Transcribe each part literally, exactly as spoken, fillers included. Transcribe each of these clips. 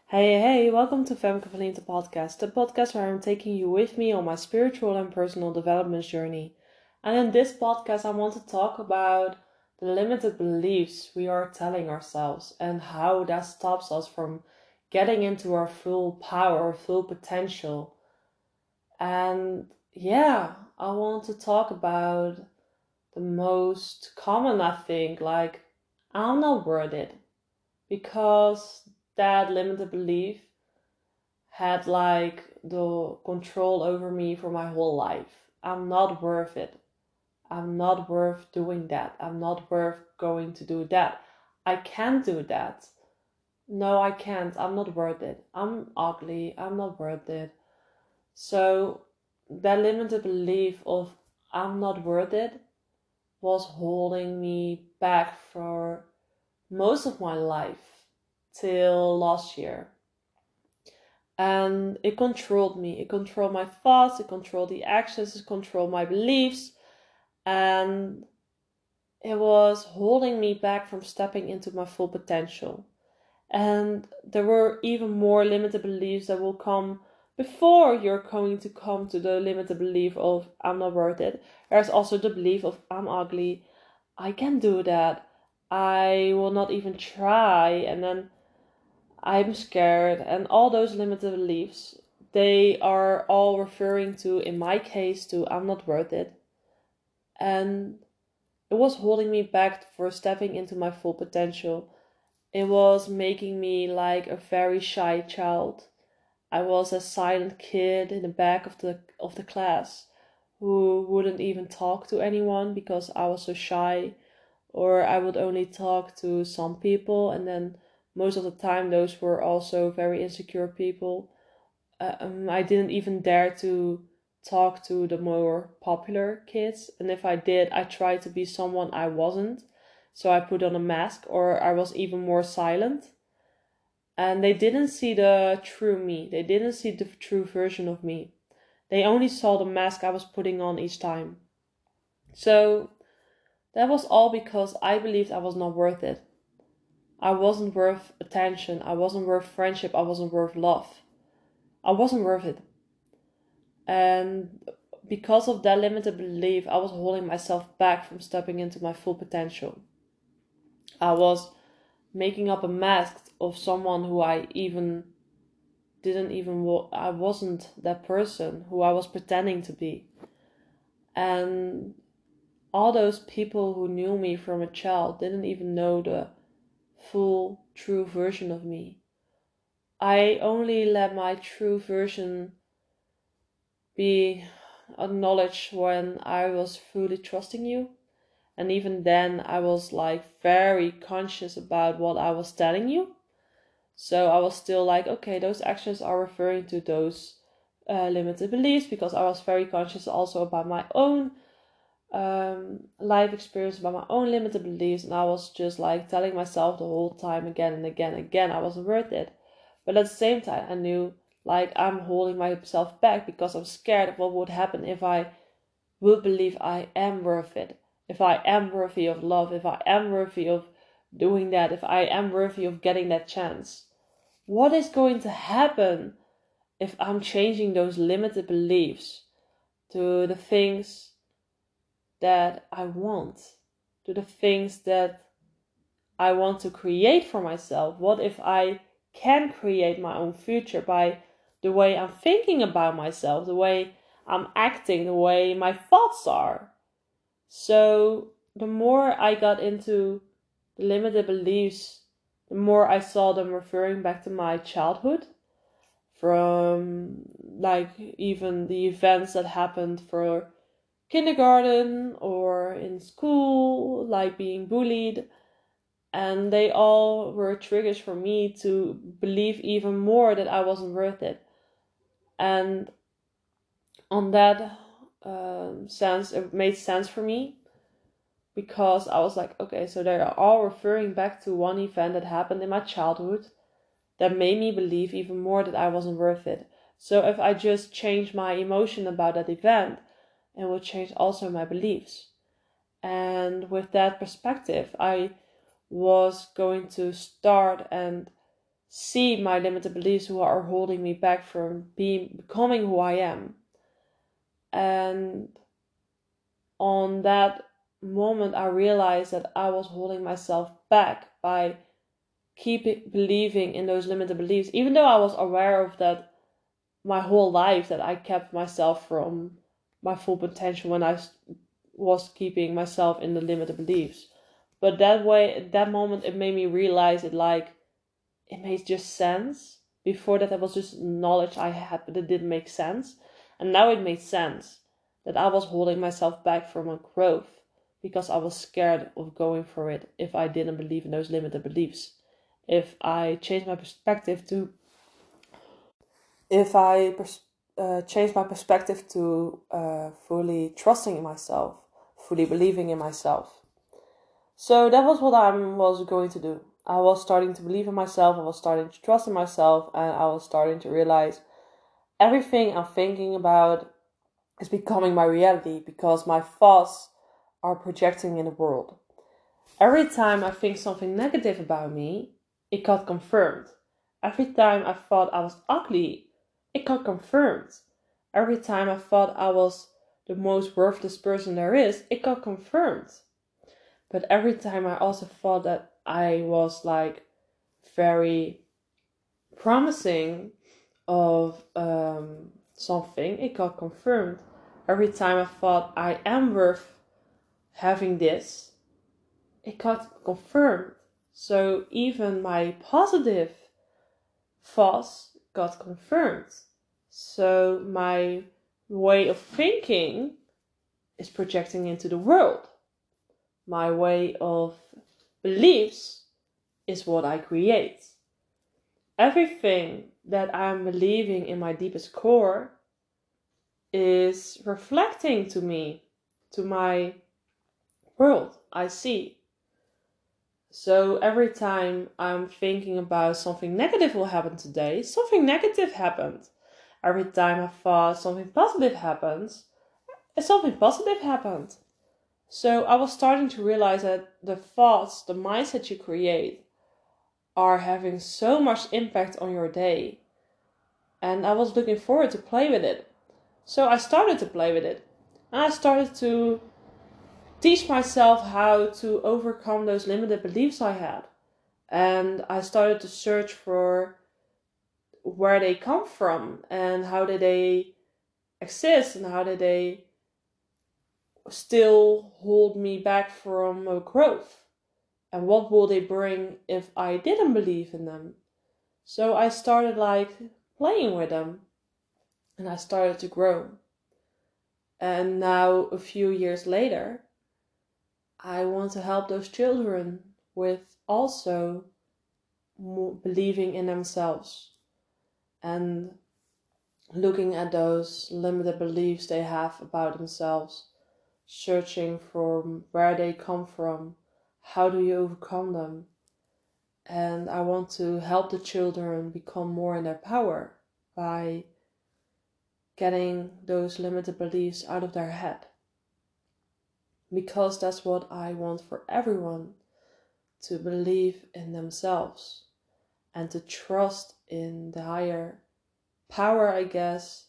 Hey, hey, welcome to Femke Verliente podcast, the podcast where I'm taking you with me on my spiritual and personal development journey. And in this podcast, I want to talk about the limited beliefs we are telling ourselves and how that stops us from getting into our full power, full potential. And yeah, I want to talk about the most common, I think, like, I'm not worth it, because that limited belief had like the control over me for my whole life. I'm not worth it. I'm not worth doing that. I'm not worth going to do that. I can't do that. No, I can't. I'm not worth it. I'm ugly. I'm not worth it. So that limited belief of I'm not worth it was holding me back for most of my life till last year. And it controlled me. It controlled my thoughts, it controlled the actions, it controlled my beliefs, and it was holding me back from stepping into my full potential. And there were even more limited beliefs that will come before you're going to come to the limited belief of I'm not worth it. There's also the belief of I'm ugly, I can't do that, I will not even try, and then I'm scared, and all those limited beliefs, they are all referring to, in my case, to I'm not worth it. And it was holding me back for stepping into my full potential. It was making me like a very shy child. I was a silent kid in the back of the of the class who wouldn't even talk to anyone because I was so shy, or I would only talk to some people, and then most of the time those were also very insecure people. Uh, um, I didn't even dare to talk to the more popular kids, and if I did, I tried to be someone I wasn't. So I put on a mask, or I was even more silent. And they didn't see the true me. They didn't see the true version of me. They only saw the mask I was putting on each time. So that was all because I believed I was not worth it. I wasn't worth attention. I wasn't worth friendship. I wasn't worth love. I wasn't worth it. And because of that limited belief, I was holding myself back from stepping into my full potential. I was making up a mask of someone who I even didn't even, I wasn't that person who I was pretending to be. And all those people who knew me from a child didn't even know the full, true version of me. I only let my true version be acknowledged when I was fully trusting you. And even then, I was like very conscious about what I was telling you. So I was still like, okay, those actions are referring to those uh, limited beliefs, because I was very conscious also about my own um, life experience, about my own limited beliefs. And I was just like telling myself the whole time again and again and again, I wasn't worth it. But at the same time, I knew like I'm holding myself back because I'm scared of what would happen if I would believe I am worth it. If I am worthy of love, if I am worthy of doing that, if I am worthy of getting that chance. What is going to happen if I'm changing those limited beliefs to the things that I want, to the things that I want to create for myself? What if I can create my own future by the way I'm thinking about myself, the way I'm acting, the way my thoughts are? So the more I got into the limited beliefs, the more I saw them referring back to my childhood, from like even the events that happened for kindergarten or in school, like being bullied. And they all were triggers for me to believe even more that I wasn't worth it. And on that um, sense, it made sense for me, because I was like, okay, so they are all referring back to one event that happened in my childhood that made me believe even more that I wasn't worth it. So if I just change my emotion about that event, it will change also my beliefs. And with that perspective, I was going to start and see my limited beliefs who are holding me back from being becoming who I am. And on that moment, I realized that I was holding myself back by keeping believing in those limited beliefs, even though I was aware of that my whole life, that I kept myself from my full potential when I was keeping myself in the limited beliefs. But that way, at that moment, it made me realize it like, it made just sense. Before that, it was just knowledge I had, but it didn't make sense. And now it made sense that I was holding myself back from a growth because I was scared of going for it if I didn't believe in those limited beliefs. If I changed my perspective to, if I pers- uh, changed my perspective to uh, fully trusting in myself, fully believing in myself. So that was what I was going to do. I was starting to believe in myself, I was starting to trust in myself, and I was starting to realize everything I'm thinking about is becoming my reality because my thoughts are projecting in the world. Every time I think something negative about me, it got confirmed. Every time I thought I was ugly, it got confirmed. Every time I thought I was the most worthless person there is, it got confirmed. But every time I also thought that I was like very promising of um, something, it got confirmed. Every time I thought I am worth having this, it got confirmed. So even my positive thoughts got confirmed. So my way of thinking is projecting into the world. My way of beliefs is what I create. Everything that I'm believing in my deepest core is reflecting to me, to my world I see. So every time I'm thinking about something negative will happen today, something negative happened. Every time I thought something positive happens, something positive happened. So I was starting to realize that the thoughts, the mindset you create, are having so much impact on your day. And I was looking forward to play with it. So I started to play with it. And I started to teach myself how to overcome those limited beliefs I had. And I started to search for where they come from and how did they exist and how did they still hold me back from uh, growth. And what will they bring if I didn't believe in them? So I started like playing with them and I started to grow. And now, a few years later, I want to help those children with also believing in themselves and looking at those limited beliefs they have about themselves, searching for where they come from, how do you overcome them. And I want to help the children become more in their power by getting those limited beliefs out of their head. Because that's what I want for everyone, to believe in themselves and to trust in the higher power, I guess,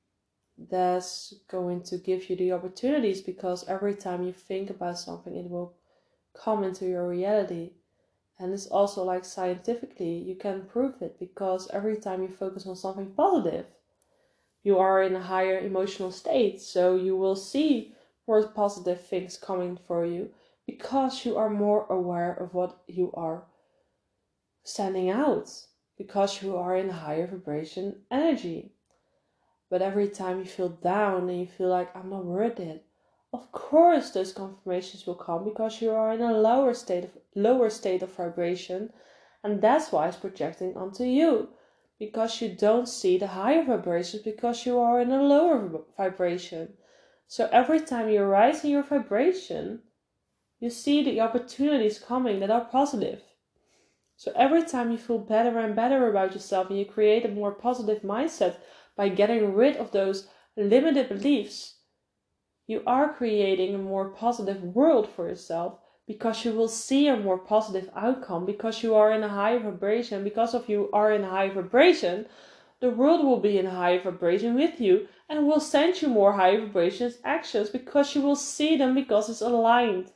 that's going to give you the opportunities, because every time you think about something, it will come into your reality. And it's also like scientifically, you can prove it, because every time you focus on something positive, you are in a higher emotional state. So you will see more positive things coming for you because you are more aware of what you are standing out, because you are in higher vibration energy. But every time you feel down and you feel like I'm not worth it, of course those confirmations will come because you are in a lower state of lower state of vibration, and that's why it's projecting onto you, because you don't see the higher vibrations because you are in a lower vibration. So every time you rise in your vibration, you see the opportunities coming that are positive. So every time you feel better and better about yourself and you create a more positive mindset by getting rid of those limited beliefs, you are creating a more positive world for yourself, because you will see a more positive outcome, because you are in a higher vibration. Because of you are in a high vibration, the world will be in a higher vibration with you and will send you more high vibrations actions because you will see them because it's aligned.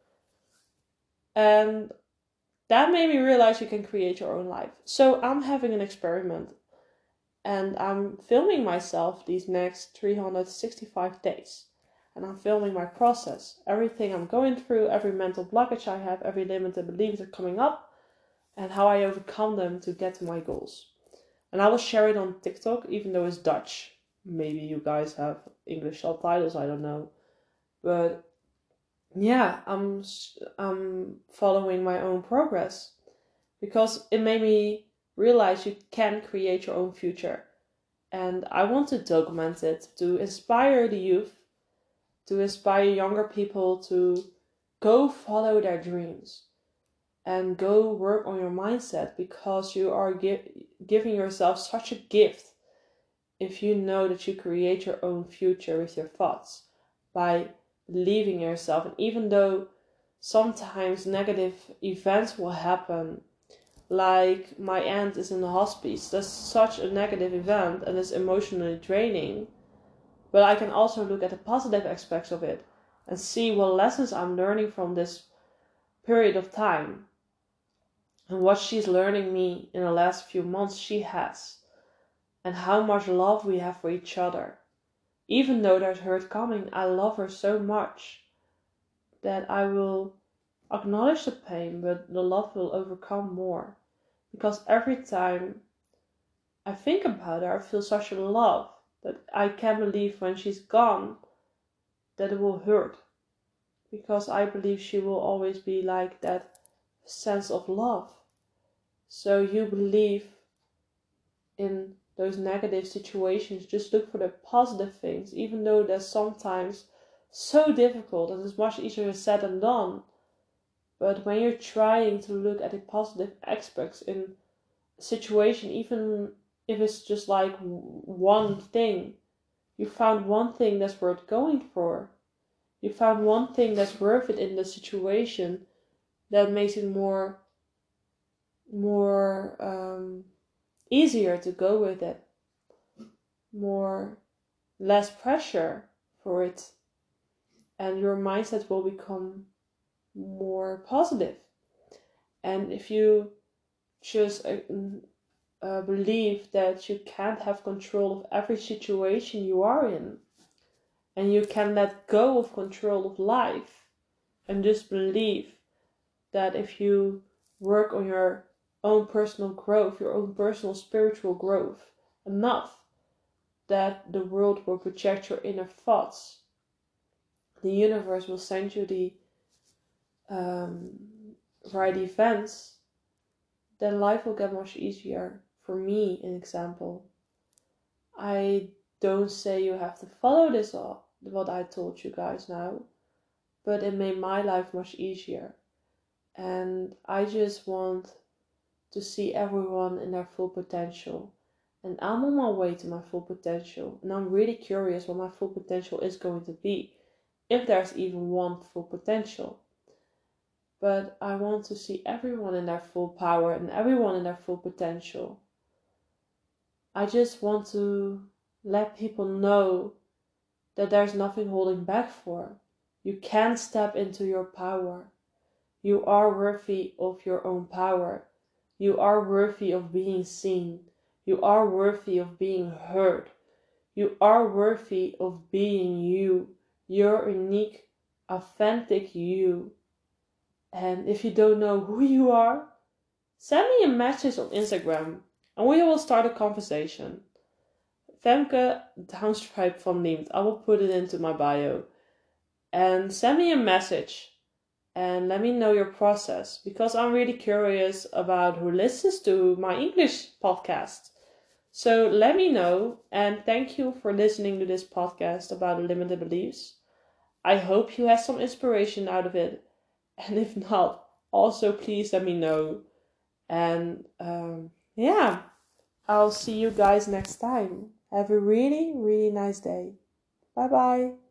And that made me realize you can create your own life. So I'm having an experiment and I'm filming myself these next three hundred sixty-five days. And I'm filming my process, everything I'm going through, every mental blockage I have, every limited beliefs that are coming up, and how I overcome them to get to my goals. And I will share it on TikTok, even though it's Dutch. Maybe you guys have English subtitles, I don't know. But yeah, I'm, I'm following my own progress. Because it made me realize you can create your own future. And I want to document it to inspire the youth, to inspire younger people to go follow their dreams and go work on your mindset, because you are gi- giving yourself such a gift if you know that you create your own future with your thoughts by believing in yourself. And even though sometimes negative events will happen, like my aunt is in the hospice, that's such a negative event and it's emotionally draining. But I can also look at the positive aspects of it and see what lessons I'm learning from this period of time. And what she's learning me in the last few months she has. And how much love we have for each other. Even though there's hurt coming, I love her so much that I will acknowledge the pain, but the love will overcome more. Because every time I think about her, I feel such a love that I can't believe when she's gone that it will hurt. Because I believe she will always be like that sense of love. So you believe in those negative situations, just look for the positive things, even though they're sometimes so difficult and it's much easier said than done. But when you're trying to look at the positive aspects in a situation, even if it's just like one thing, you found one thing that's worth going for. You found one thing that's worth it in the situation that makes it more, more um, easier to go with it. More, less pressure for it. And your mindset will become more positive. And if you just uh, uh, believe that you can't have control of every situation you are in, and you can let go of control of life, and just believe that if you work on your own personal growth, your own personal spiritual growth enough, that the world will project your inner thoughts. The universe will send you the um, right events, then life will get much easier. For me, an example, I don't say you have to follow this all, what I told you guys now, but it made my life much easier. And I just want to see everyone in their full potential. And I'm on my way to my full potential. And I'm really curious what my full potential is going to be. If there's even one full potential. But I want to see everyone in their full power and everyone in their full potential. I just want to let people know that there's nothing holding back for. You can step into your power. You are worthy of your own power. You are worthy of being seen. You are worthy of being heard. You are worthy of being you. Your unique, authentic you. And if you don't know who you are, send me a message on Instagram and we will start a conversation. Femke Downstripe van Liemt. I will put it into my bio. And send me a message and let me know your process, because I'm really curious about who listens to my English podcast. So let me know, and thank you for listening to this podcast about limited beliefs. I hope you had some inspiration out of it. And if not, also please let me know. And um, yeah, I'll see you guys next time. Have a really, really nice day. Bye bye.